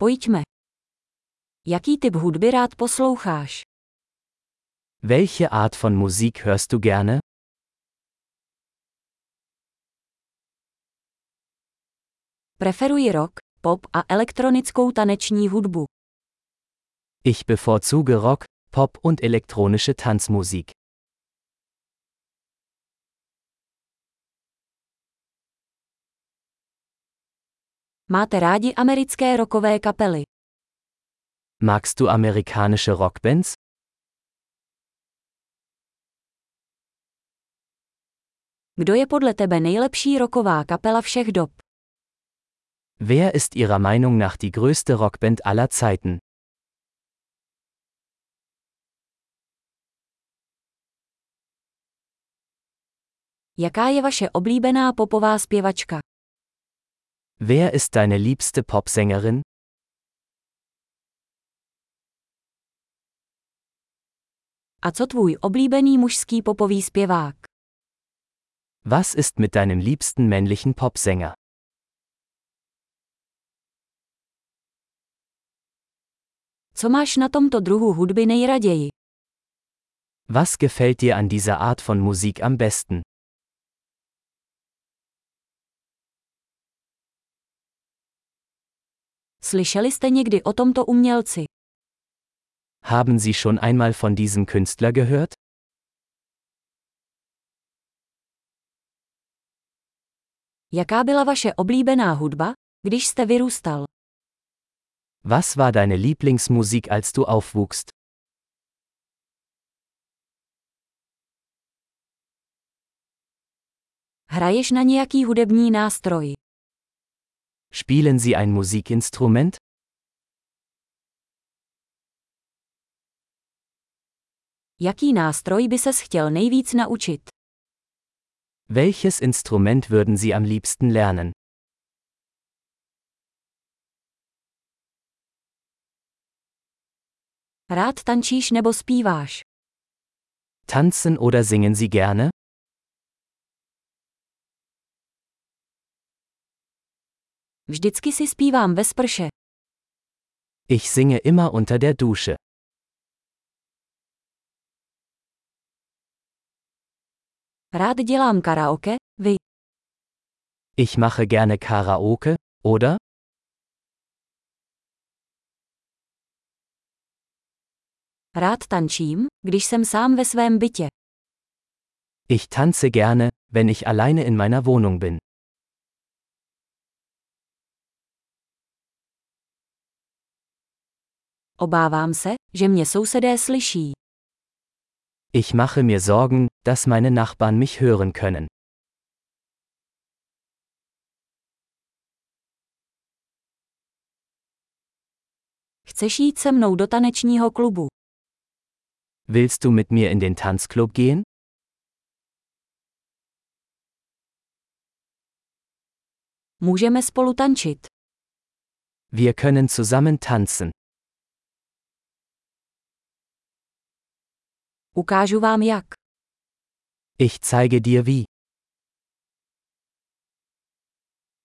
Pojďme. Jaký typ hudby rád posloucháš? Welche Art von Musik hörst du gerne? Preferuji rock, pop a elektronickou taneční hudbu. Ich bevorzuge Rock, Pop und elektronische Tanzmusik. Máte rádi americké rockové kapely? Magst du amerikanische Rockbands? Kdo je podle tebe nejlepší rocková kapela všech dob? Wer ist Ihrer Meinung nach die größte Rockband aller Zeiten? Jaká je vaše oblíbená popová zpěvačka? Wer ist deine liebste Popsängerin? A co tvůj oblíbený mužský popový zpěvák? Was ist mit deinem liebsten männlichen Popsänger? Co máš na tomto druhu hudby nejraději? Was gefällt dir an dieser Art von Musik am besten? Slyšeli jste někdy o tomto umělci? Haben Sie schon einmal von diesem Künstler gehört? Jaká byla vaše oblíbená hudba, když jste vyrůstal? Was war deine Lieblingsmusik, als du aufwuchst? Hraješ na nějaký hudební nástroj? Spielen Sie ein Musikinstrument? Jaký nástroj by ses chtěl nejvíc naučit? Welches Instrument würden Sie am liebsten lernen? Rád tančíš nebo zpíváš? Tanzen oder singen Sie gerne? Vždycky si zpívám ve sprše. Ich singe immer unter der Dusche. Rád dělám karaoke, vy. Ich mache gerne Karaoke, oder? Rád tančím, když jsem sám ve svém bytě. Ich tanze gerne, wenn ich alleine in meiner Wohnung bin. Obávám se, že mě sousedé slyší. Ich mache mir Sorgen, dass meine Nachbarn mich hören können. Chceš jít se mnou do tanečního klubu? Willst du mit mir in den Tanzclub gehen? Můžeme spolu tančit. Wir können zusammen tanzen. Ukážu vám jak. Ich zeige dir wie.